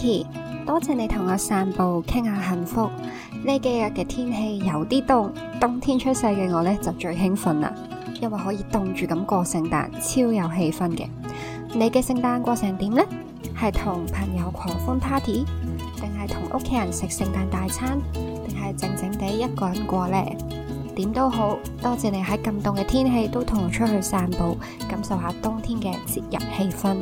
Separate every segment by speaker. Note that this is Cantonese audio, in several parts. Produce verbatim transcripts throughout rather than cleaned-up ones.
Speaker 1: Vicky， 多謝你同我散步傾下幸福。呢幾日嘅天氣有啲凍，冬天出世嘅我呢就最興奮啦，因為可以凍住咁過聖誕，超有氣氛嘅。你嘅聖誕過成點呢？係同朋友狂歡 party， 定係同屋企人食聖誕大餐，定係靜靜地一個人過呢？點都好，多謝你喺咁凍嘅天氣都同我出去散步，感受下冬天嘅節日氣氛。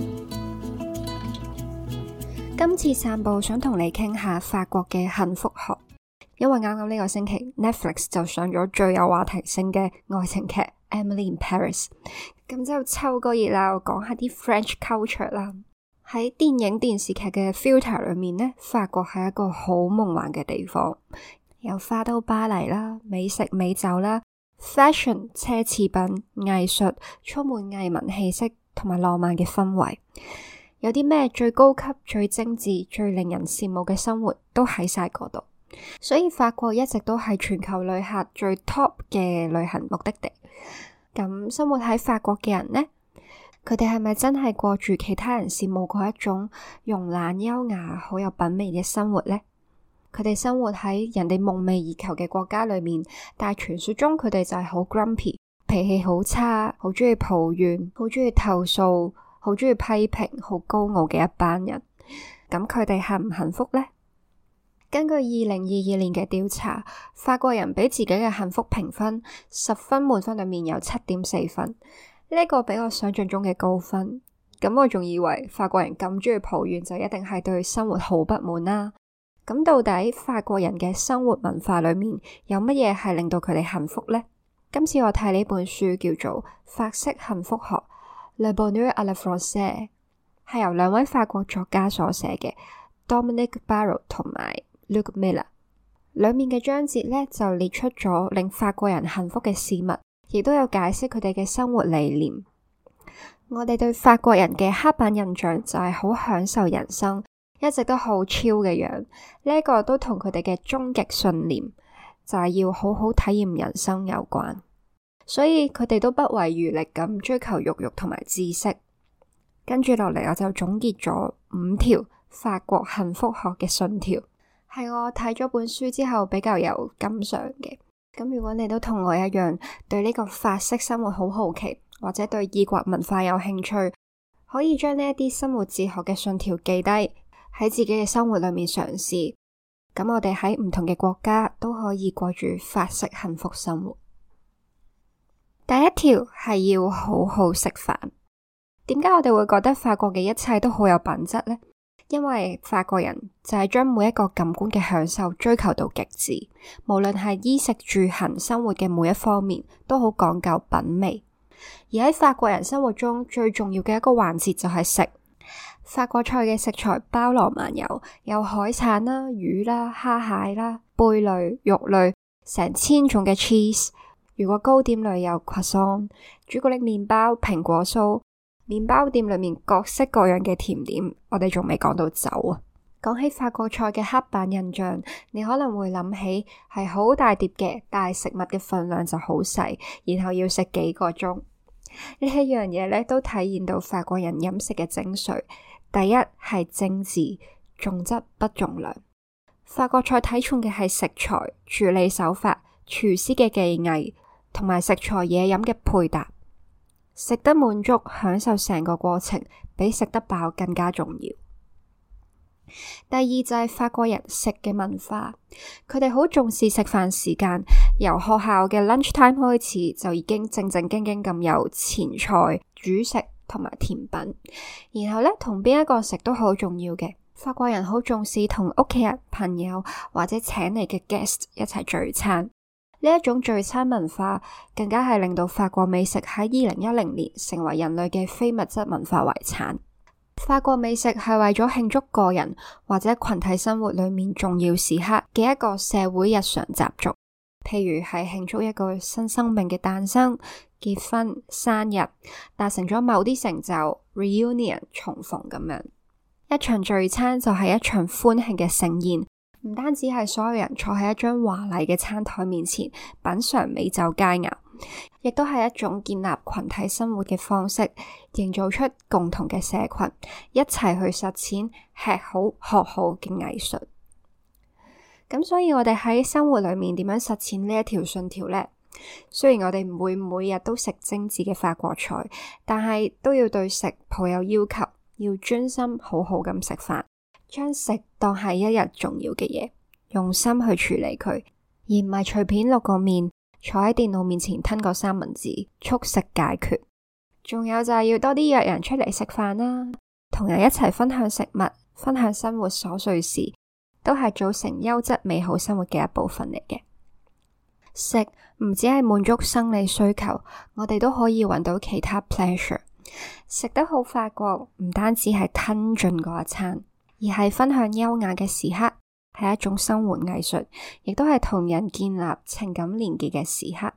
Speaker 1: 今次散步想同你傾下法國嘅幸福學，因為啱啱呢個星期 Netflix 就上咗最有話題性嘅愛情劇 Emily in Paris， 咁就湊個熱鬧講下啲 French culture 啦。喺電影電視劇嘅 filter 裏面呢，法國係一個好夢幻嘅地方。由花都巴黎啦，美食美酒啦 ，fashion 奢侈品、藝術，充滿藝文氣息同埋浪漫嘅氛圍。有啲咩最高級、最精緻、最令人羨慕嘅生活都喺晒嗰度。所以法國一直都係全球旅客最 top 嘅旅行目的地。咁生活喺法國嘅人呢，佢哋係咪真係過住其他人羨慕嗰一種慵懶優雅、好有品味嘅生活呢？佢哋生活喺人哋夢寐以求嘅國家裏面，但係傳說中佢哋就係好 grumpy， 脾氣好差，好中意抱怨，好中意投訴，好中意批評，好高傲嘅一班人。咁佢哋幸唔幸福呢？根據二零二二年嘅調查，法國人俾自己嘅幸福評分，十分滿分裏面有七點四分，呢個比我想象中嘅高分。咁我仲以為法國人咁中意抱怨就一定係對生活好不滿啦。咁到底法國人嘅生活文化裏面有乜嘢係令到佢哋幸福呢？今次我睇呢本書叫做《法式幸福學》Le Bonheur à la Française， 係由兩位法國作家所寫嘅 Dominique Barrault 同埋 Luc Miller。裏面嘅章節呢就列出咗令法國人幸福嘅事物，亦都有解釋佢哋嘅生活理念。我哋對法國人嘅刻板印象就係好享受人生，一直都好 chill 嘅樣，呢一個都同佢哋嘅終極信念就係要好好體驗人生有關，所以佢哋都不遺餘力咁追求肉欲同埋知識。跟住落嚟，我就總結咗五條法國幸福學嘅信條，係我睇咗本書之後比較有感想嘅。咁如果你都同我一樣對呢個法式生活好好奇，或者對異國文化有興趣，可以將呢一啲生活哲學嘅信條記低，喺自己嘅生活裏面嘗試，咁我哋喺唔同嘅國家都可以過住法式幸福生活。第一條係要好好食飯。點解我哋會覺得法國嘅一切都好有品質呢？因為法國人就係將每一個感官嘅享受追求到極致，無論係衣食住行生活嘅每一方面都好講究品味。而喺法國人生活中最重要嘅一個環節就係食。法國菜嘅食材包羅萬有，有海產啦、魚啦、蝦蟹啦、貝類、肉類，成千種嘅 cheese。如果糕點類有 croissant、朱古力麵包、蘋果酥，麵包店裏面各式各樣嘅甜點，我哋仲未講到酒啊！講起法國菜嘅刻板印象，你可能會諗起係好大碟嘅，但係食物嘅分量就好細，然後要食幾個鐘。呢一樣嘢咧都體現到法國人飲食嘅精髓。第一係精緻，重質不重量。法國菜睇重嘅係食材、處理手法、廚師嘅技藝，同埋食材嘢飲嘅配搭。食得滿足，享受成個過程，比食得飽更加重要。第二就係法國人食嘅文化，佢哋好重視食飯時間，由學校嘅 lunch time 開始就已經正正經經咁有前菜、主食同埋甜品，然後呢，同邊一個食都好重要嘅。法國人好重視同屋企人、朋友或者請嚟嘅 guest 一齊聚餐，呢一種聚餐文化更加係令到法國美食喺二零一零年成為人類嘅非物質文化遺產。法國美食係為咗慶祝個人或者群體生活裏面重要時刻嘅一個社會日常習俗，譬如係慶祝一個新生命嘅誕生、結婚、生日、達成咗某啲成就、reunion 重逢咁樣。一場聚餐就係一場歡慶嘅盛宴，唔單止係所有人坐喺一張華麗嘅餐台面前品嘗美酒佳肴， 亦都係一種建立群體生活嘅方式，營造出共同嘅社群，一齊去實踐吃好學好嘅藝術。咁所以我哋喺生活裏面點樣實踐呢一條信條呢？雖然我哋唔會每日都食精緻嘅法國菜，但係都要對食抱有要求，要專心好好咁食飯，將食當係一日重要嘅嘢，用心去處理佢，而唔係隨便落個麵，坐喺電腦面前吞個三文治，速食解決。仲有就係要多啲約人出嚟食飯啦，同人一齊分享食物，分享生活瑣碎事，都係組成優質美好生活嘅一部分嚟嘅。食唔只係滿足生理需求，我哋都可以揾到其他 pleasure。食得好法國唔單止係吞進嗰一餐，而係分享優雅嘅時刻，係一種生活藝術，亦都係同人建立情感連結嘅時刻。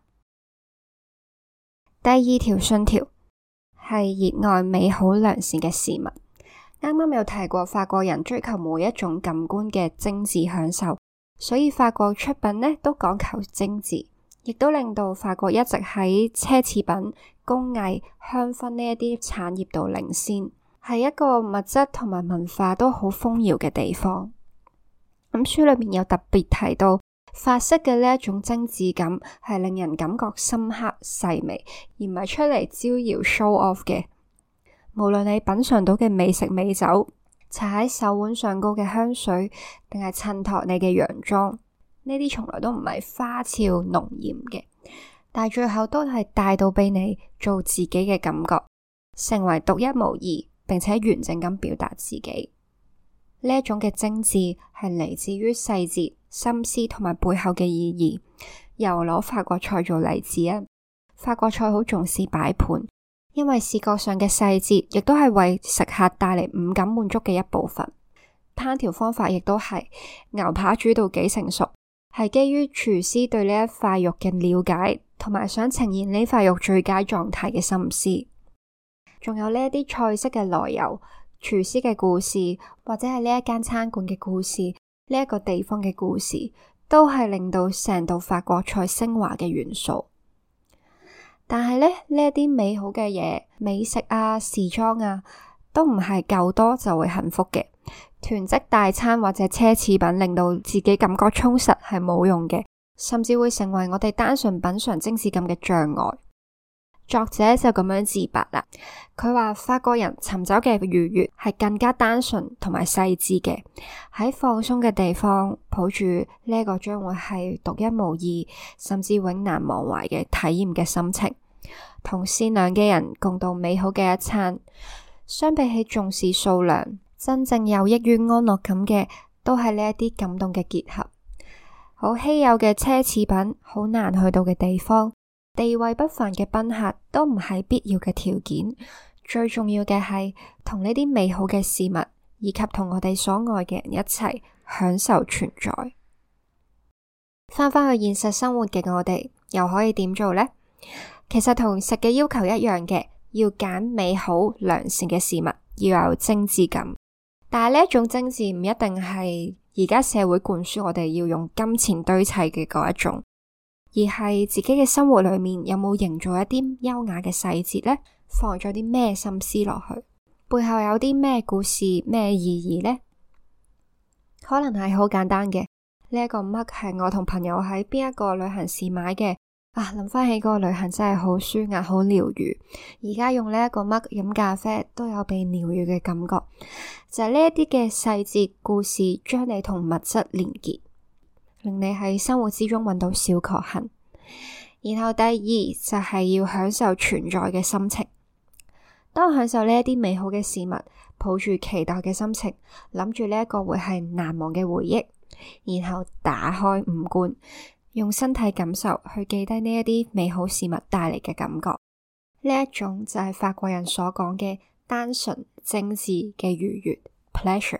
Speaker 1: 第二條信條係熱愛美好良善嘅事物。啱啱有提過法國人追求每一種感官嘅精緻享受，所以法國出品呢都講求精緻，亦都令到法國一直喺奢侈品、工藝、香薰呢一啲產業度領先，係一個物質同埋文化都好豐饒嘅地方。咁書裏面有特別提到，法式嘅呢一種精緻感係令人感覺深刻細微，而唔係出嚟招搖 show off 嘅。無論你品嘗到嘅美食美酒，搽喺手腕上高嘅香水，定係襯托你嘅洋裝，呢啲從來都唔係花俏濃艷嘅，但係最後都係帶到俾你做自己嘅感覺，成為獨一無二，並且完整咁表達自己。呢一種嘅精緻係嚟自於細節、心思同埋背後嘅意義。又攞法國菜做例子啊，法國菜好重視擺盤，因為視覺上嘅細節亦都係為食客帶嚟五感滿足嘅一部分。烹調方法亦都係牛扒煮到幾成熟，係基於廚師對呢一塊肉嘅了解，同埋想呈現呢塊肉最佳狀態嘅心思。仲有呢一啲菜式嘅來由、廚師嘅故事，或者係呢一間餐館嘅故事，呢一個地方嘅故事，都係令到成道法國菜升華嘅元素。但係呢，呢一啲美好嘅嘢，美食啊、時裝啊，都唔係夠多就會幸福嘅。囤積大餐或者奢侈品，令到自己感覺充實係冇用嘅，甚至會成為我哋單純品嘗精緻感嘅障礙。作者就咁樣自白啦，佢話法國人尋找嘅愉悅係更加單純同埋細緻嘅，喺放鬆嘅地方抱住呢一個將會係獨一無二甚至永難忘懷嘅體驗嘅心情，同善良嘅人共度美好嘅一餐。相比起重視數量，真正有益於安樂感嘅都係呢一啲感動嘅結合。好稀有嘅奢侈品，好難去到嘅地方，地位不凡嘅賓客都唔係必要嘅條件，最重要嘅係同呢啲美好嘅事物，以及同我哋所愛嘅人一齊享受存在。翻返去現實生活嘅我哋，又可以點做呢？其實同食嘅要求一樣嘅，要揀美好良善嘅事物，要有精緻感。但係呢一種精緻唔一定係而家社會灌輸我哋要用金錢堆砌嘅嗰一種，而係自己嘅生活裏面有冇營造一啲優雅嘅細節呢？放咗啲咩心思落去？背後有啲咩故事、咩意義呢？可能係好簡單嘅，呢一個 mug 係我同朋友喺邊一個旅行時買嘅。啊，諗翻起嗰個旅行真係好舒壓、好療癒。而家用呢一個 mug 飲咖啡都有被療癒嘅感覺，就係呢一啲嘅細節故事，將你同物質連結，令你喺生活之中揾到小確幸。然後第二就係要享受存在嘅心情。當享受呢一啲美好嘅事物，抱住期待嘅心情，諗住呢一個會係難忘嘅回憶，然後打開五官，用身體感受去記低呢一啲美好事物帶嚟嘅感覺。呢一種就係法國人所講嘅單純精緻嘅愉悅 pleasure。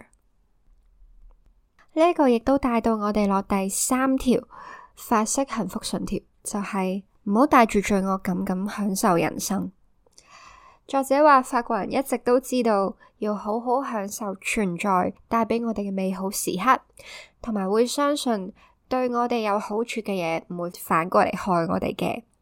Speaker 1: 呢一個亦都帶到我哋落第三條法式幸福信條，就係唔好帶住罪惡感咁享受人生。作者話法國人一直都知道要好好享受存在帶俾我哋嘅美好時刻，同埋會相信對我哋有好處嘅嘢唔會反過嚟害我哋嘅。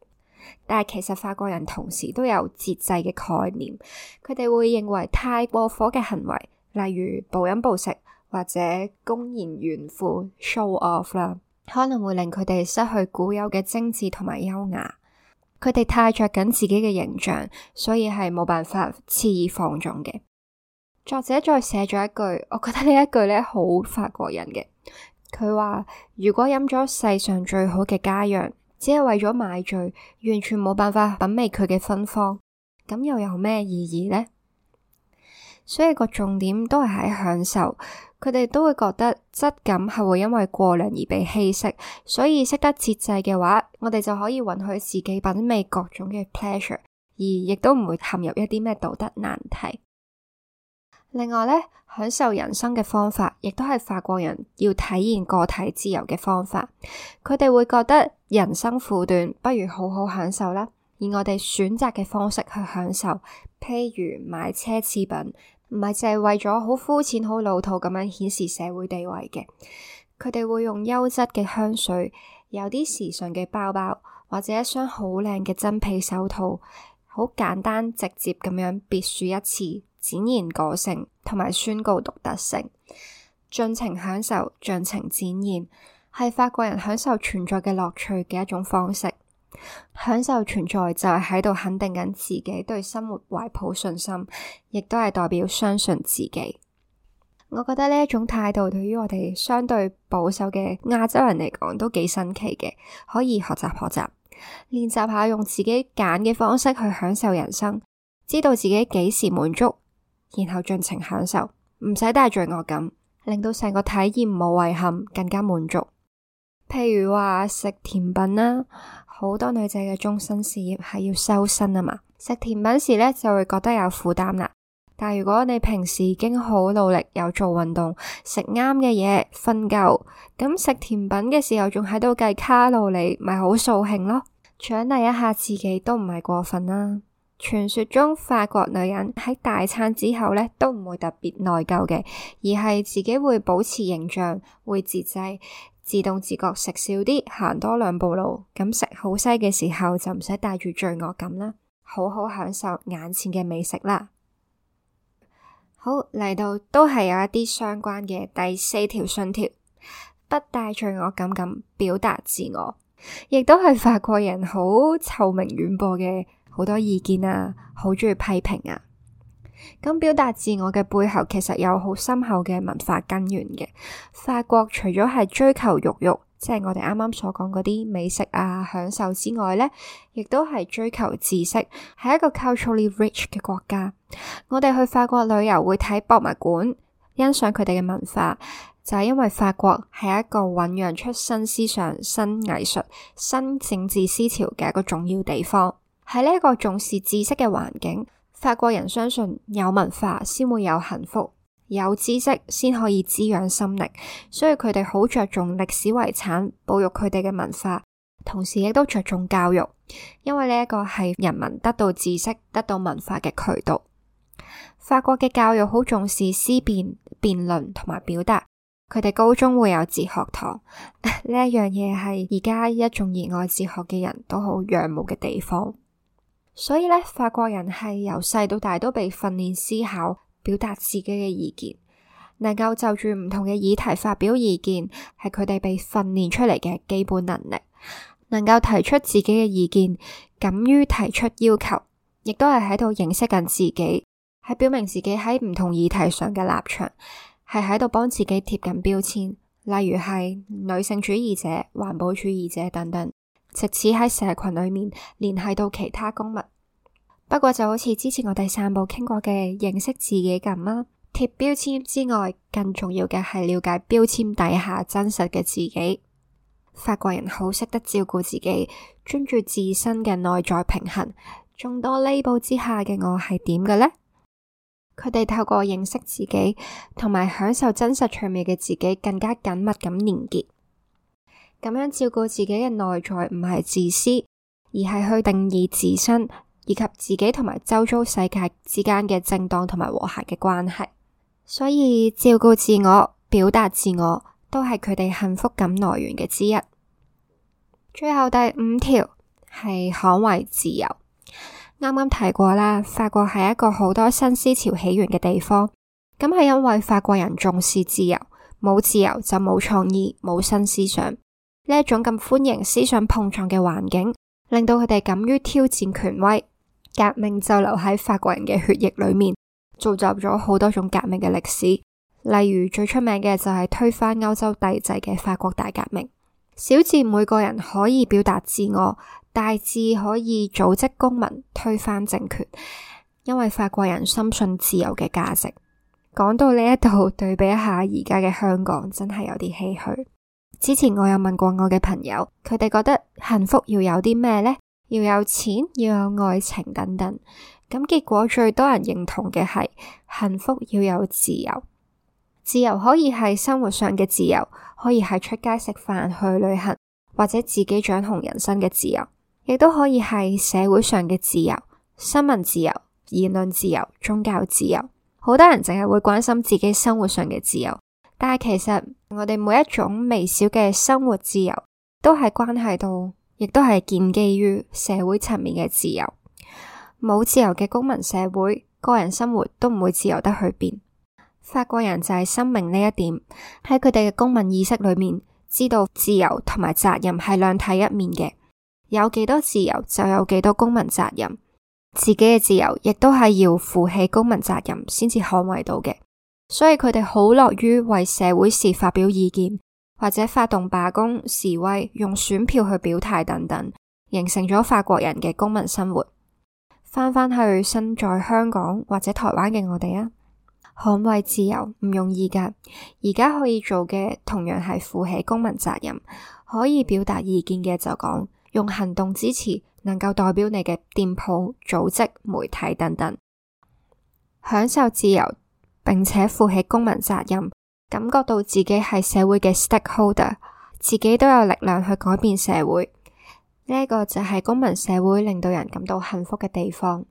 Speaker 1: 但係其實法國人同時都有節制嘅概念，佢哋會認為太過火嘅行為，例如暴飲暴食或者公然炫富 show off 啦，可能會令佢哋失去固有嘅精緻同埋優雅。佢哋太着緊自己嘅形象，所以係冇辦法肆意放縱嘅。作者再寫咗一句，我覺得呢一句咧好法國人嘅。佢話如果飲咗世上最好嘅佳釀，只係為咗買醉，完全冇辦法品味佢嘅芬芳，咁又有咩意義呢？所以個重點都係喺享受，佢哋都會覺得質感係會因為過量而被稀釋，所以識得節制嘅話，我哋就可以允許自己品味各種嘅 pleasure， 而亦都唔會陷入一啲咩道德難題。另外咧，享受人生嘅方法，亦都係法國人要體現個體自由嘅方法。佢哋會覺得人生苦短，不如好好享受啦。而我哋選擇嘅方式去享受，譬如買奢侈品，唔係淨係為咗好膚淺、好老土咁樣顯示社會地位嘅。佢哋會用優質嘅香水，有啲時尚嘅包包，或者一雙好靚嘅真皮手套，好簡單直接咁樣別樹一幟，展現個性同埋宣告獨特性，盡情享受，盡情展現，係法國人享受存在嘅樂趣嘅一種方式。享受存在就係喺度肯定緊自己對生活懷抱信心，亦都係代表相信自己。我覺得呢一種態度對於我哋相對保守嘅亞洲人嚟講都幾新奇嘅，可以學習學習，練習下用自己揀嘅方式去享受人生，知道自己幾時滿足，然後盡情享受，唔使帶罪惡感，令到成個體驗冇遺憾，更加滿足。譬如話食甜品啦，好多女仔嘅終身事業係要修身啊嘛，食甜品時咧就會覺得有負擔啦。但如果你平時已經好努力，有做運動，食啱嘅嘢，瞓夠，咁食甜品嘅時候仲喺度計卡路里，咪好掃興咯。獎勵一下自己都唔係過分啦。傳說中法國女人喺大餐之後咧都唔會特別內疚嘅，而係自己會保持形象，會節制，自動自覺食少啲，行多兩步路，咁食好西嘅時候就唔使帶住罪惡感啦，好好享受眼前嘅美食啦。好，嚟到都係有一啲相關嘅第四條信條，不帶罪惡感咁表達自我，亦都係法國人好臭名遠播嘅好多意見啊，好鍾意批評啊。咁表達自我嘅背後其實有好深厚嘅文化根源嘅。法國除咗係追求肉欲，即係我哋啱啱所講嗰啲美食啊享受之外咧，亦都係追求知識，係一個 culturally rich 嘅國家。我哋去法國旅遊會睇博物館，欣賞佢哋嘅文化，就係因為法國係一個醞釀出新思想、新藝術、新政治思潮嘅一個重要地方。喺呢一個重視知識嘅環境，法國人相信有文化先會有幸福，有知識先可以滋養心靈，所以佢哋好着重歷史遺產，保育佢哋嘅文化，同時亦都着重教育，因為呢一個係人民得到知識、得到文化嘅渠道。法國嘅教育好重視思辨、辯論同埋表達，佢哋高中會有哲學堂，呢一樣嘢係而家一眾熱愛哲學嘅人都好仰慕嘅地方。所以咧，法國人係由細到大都被訓練思考、表達自己嘅意見，能夠就住唔同嘅議題發表意見，係佢哋被訓練出嚟嘅基本能力。能夠提出自己嘅意見，敢於提出要求，亦都係喺度認識緊自己，係表明自己喺唔同議題上嘅立場，係喺度幫自己貼緊標籤，例如係女性主義者、環保主義者等等。藉此喺社群裏面聯繫到其他公民。不過就好似之前我第三部傾過嘅認識自己咁啦，貼標籤之外，更重要嘅係了解標籤底下真實嘅自己。法國人好識得照顧自己，專注自身嘅內在平衡。眾多 label 之下嘅我係點嘅呢？佢哋透過認識自己同埋享受真實趣味嘅自己，更加緊密咁連結。咁樣照顧自己嘅內在唔係自私，而係去定義自身以及自己同埋周遭世界之間嘅正當同埋和諧嘅關係。所以照顧自我、表達自我都係佢哋幸福感來源嘅之一。最後第五條， 係捍衛自由。啱啱提過啦，法國係一個好多新思潮起源嘅地方，咁係因為法國人重視自由，冇自由就冇創意，冇新思想。呢一種咁歡迎思想碰撞嘅環境，令到佢哋敢於挑戰權威，革命就留喺法國人嘅血液裏面，造就咗好多種革命嘅歷史。例如最出名嘅就係推翻歐洲帝制嘅法國大革命。小至每個人可以表達自我，大至可以組織公民推翻政權，因為法國人深信自由嘅價值。講到呢一度，對比一下而家嘅香港，真係有啲唏噓。之前我有問過我嘅朋友，佢哋覺得幸福要有啲咩呢？要有錢，要有愛情等等。咁結果最多人認同嘅係幸福要有自由。自由可以係生活上嘅自由，可以係出街食飯、去旅行，或者自己掌控人生嘅自由，亦都可以係社會上嘅自由，新聞自由、言論自由、宗教自由。好多人淨係會關心自己生活上嘅自由，但係其實我哋每一種微小嘅生活自由，都係關係到，亦都係建基於社會層面嘅自由。冇自由嘅公民社會，個人生活都唔會自由得去邊。法國人就係深明呢一點，喺佢哋嘅公民意識裏面，知道自由同埋責任係兩體一面嘅，有幾多自由就有幾多公民責任，自己嘅自由亦都係要負起公民責任先至捍衛到嘅，所以佢哋好樂於為社會事發表意見，或者發動罷工、示威，用選票去表態等等，形成咗法國人嘅公民生活。翻返去身在香港或者台灣嘅我哋啊，捍衛自由唔容易㗎，而家可以做嘅同樣係負起公民責任，可以表達意見嘅就講，用行動支持能夠代表你嘅店鋪、組織、媒體等等，享受自由並且負起公民責任，感覺到自己係社會嘅 stakeholder， 自己都有力量去改變社會。呢一個就係公民社會令到人感到幸福嘅地方。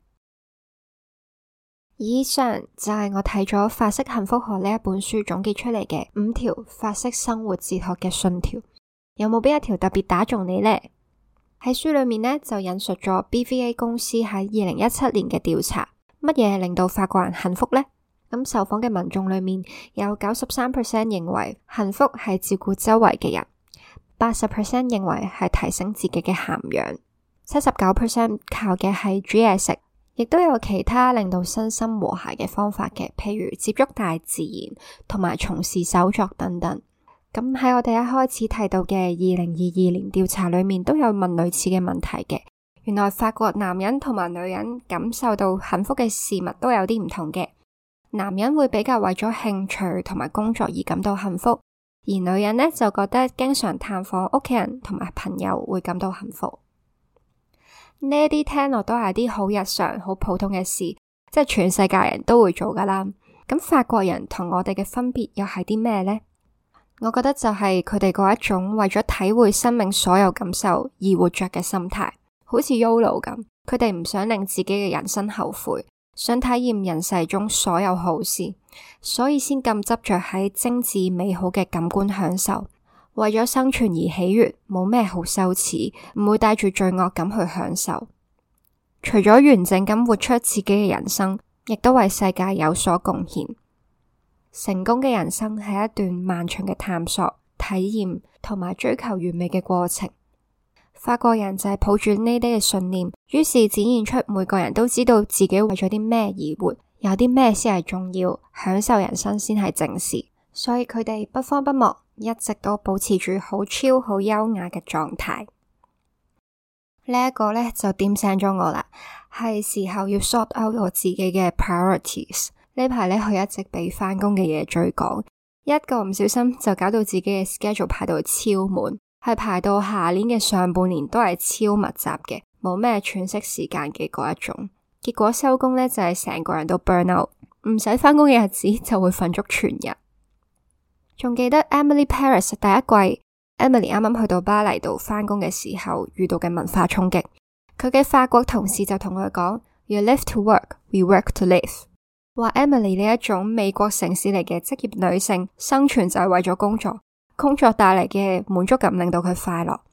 Speaker 1: 以上就係我睇咗《法式幸福學》呢一本書總結出嚟嘅五條法式生活哲學嘅信條，有冇邊一條特別打中你呢？喺書裏面呢，就引述咗 B V A 公司喺二零一七年嘅調查，乜嘢令到法國人幸福呢？咁受訪嘅民眾裏面有九十三 percent 認為幸福係照顧周圍嘅人，八十 percent 認為係提升自己嘅涵養，七十九 percent 靠嘅係煮嘢食。亦都有其他令到身心和諧嘅方法嘅，譬如接觸大自然同埋從事手作等等。咁喺我哋一開始提到嘅二零二二年調查裏面都有問類似嘅問題嘅。原來法國男人同埋女人感受到幸福嘅事物都有啲唔同嘅。男人會比較為咗興趣同埋工作而感到幸福，而女人呢就覺得經常探訪屋企人同埋朋友會感到幸福。呢啲聽落都係啲好日常、好普通嘅事，即係全世界人都會做噶啦。咁法國人同我哋嘅分別又係啲咩呢？我覺得就係佢哋嗰一種為咗體會生命所有感受而活着嘅心態，好似 YOLO 咁。佢哋唔想令自己嘅人生後悔，想體驗人世中所有好事，所以先咁執着喺精緻美好嘅感官享受。為咗生存而喜悅，冇咩好羞恥，唔會帶住罪惡感去享受。除咗完整咁活出自己嘅人生，亦都為世界有所貢獻。成功嘅人生係一段漫長嘅探索、體驗同埋追求完美嘅過程。法國人就係抱住呢啲嘅信念，於是展現出每個人都知道自己為咗啲咩而活，有啲咩先係重要，享受人生先係正事。所以佢哋不慌不忙，一直都保持住好 chill、好優雅嘅狀態。呢一個呢就點醒咗我啦，係時候要 sort out 我自己嘅 priorities。呢排呢佢一直俾返工嘅嘢追趕，一個唔小心就搞到自己嘅 schedule 排到超滿，係排到下年嘅上半年都係超密集嘅，冇咩喘息時間嘅嗰一種。結果收工呢就係成個人都 burn out，唔使返工嘅日子就會瞓足全日。仲記得 Emily Paris 第一季 Emily 啱啱去到巴黎度返工嘅時候遇到嘅文化衝擊，佢嘅法國同事就同佢講 You live to work, we work to live， 話 Emily 呢一種美國城市嚟嘅職業女性生存就係為咗工作，工作帶嚟嘅滿足感令到佢快樂，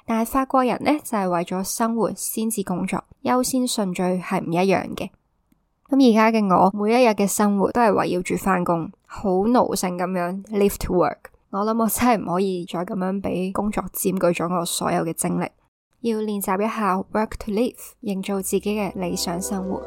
Speaker 1: 但係法國人呢，就係為咗生活先至工作，優先順序係唔一樣嘅。咁而家嘅我，每一日嘅生活都係圍繞住返工，好奴性咁樣 live to work。我諗我真係唔可以再咁樣俾工作佔據咗我所有嘅精力，要練習一下 work to live， 營造自己嘅理想生活。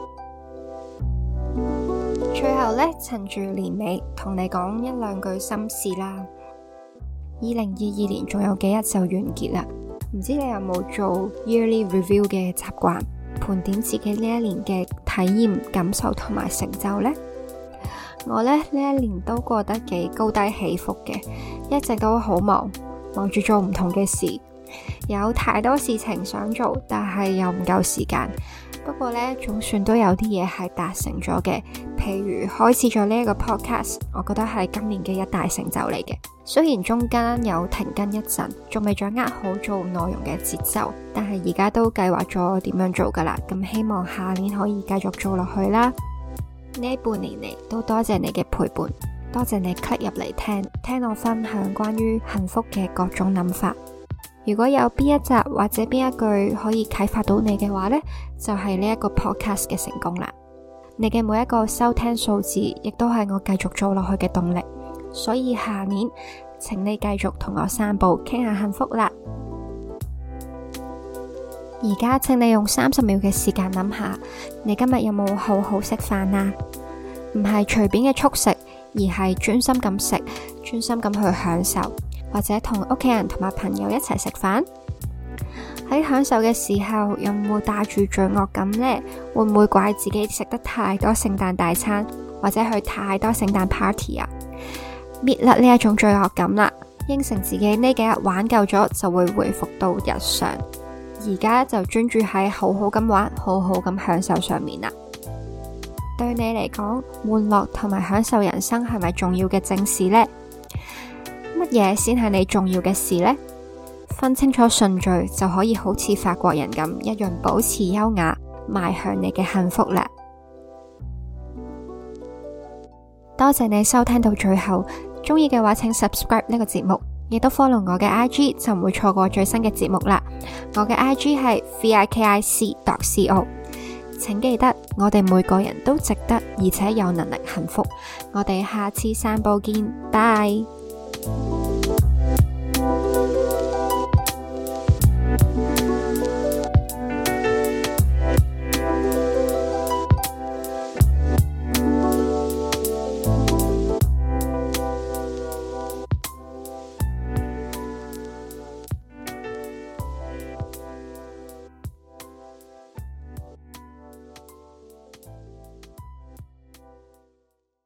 Speaker 1: 最後呢，趁住年尾同你講一兩句心事啦。二零二二年仲有幾日就完結啦，唔知你有冇做 yearly review 嘅習慣，盤點自己呢一年嘅體驗、感受同埋成就呢？我呢，呢一年都過得幾高低起伏嘅，一直都好忙，忙住做唔同嘅事，有太多事情想做，但係又唔夠時間。不過呢，總算都有啲嘢係達成咗嘅，譬如開始咗呢一個 podcast， 我覺得係今年嘅一大成就嚟嘅。雖然中間有停更一陣，仲未掌握好做內容嘅節奏，但係而家都計劃咗點樣做噶啦。咁希望下年可以繼續做落去啦。呢半年嚟都多謝你嘅陪伴，多謝你 click 入嚟聽，聽我分享關於幸福嘅各種諗法。如果有邊一集或者邊一句可以啟發到你嘅話呢，就係呢一個 podcast 嘅成功啦。你嘅每一個收聽數字，亦都係我繼續做落去嘅動力。所以下年，請你繼續同我散步，傾下幸福啦。而家請你用三十秒嘅時間諗下，你今日有冇好好食飯啊？唔係隨便嘅速食，而係專心咁食，專心咁去享受。或者同屋企人同埋朋友一齊食飯，喺享受嘅時候有冇帶住罪惡感呢？會唔會怪自己食得太多聖誕大餐，或者去太多聖誕 party 啊？搣甩呢一種罪惡感啦，應承自己呢幾日玩夠咗就會回復到日常，而家就專注喺好好咁玩，好好咁享受上面啦。對你嚟講，玩樂同埋享受人生係咪重要嘅正事呢？乜嘢先係你重要嘅事呢？分清楚順序就可以好似法國人咁一樣保持優雅，邁向你嘅幸福啦。多謝你收聽到最後，鍾意嘅話請 subscribe 呢個節目，亦都 follow 我嘅 I G 就唔會錯過最新嘅節目啦。我嘅 I G 係 vikic dot co， 請記得我哋每個人都值得而且有能力幸福。我哋下次散步見，拜。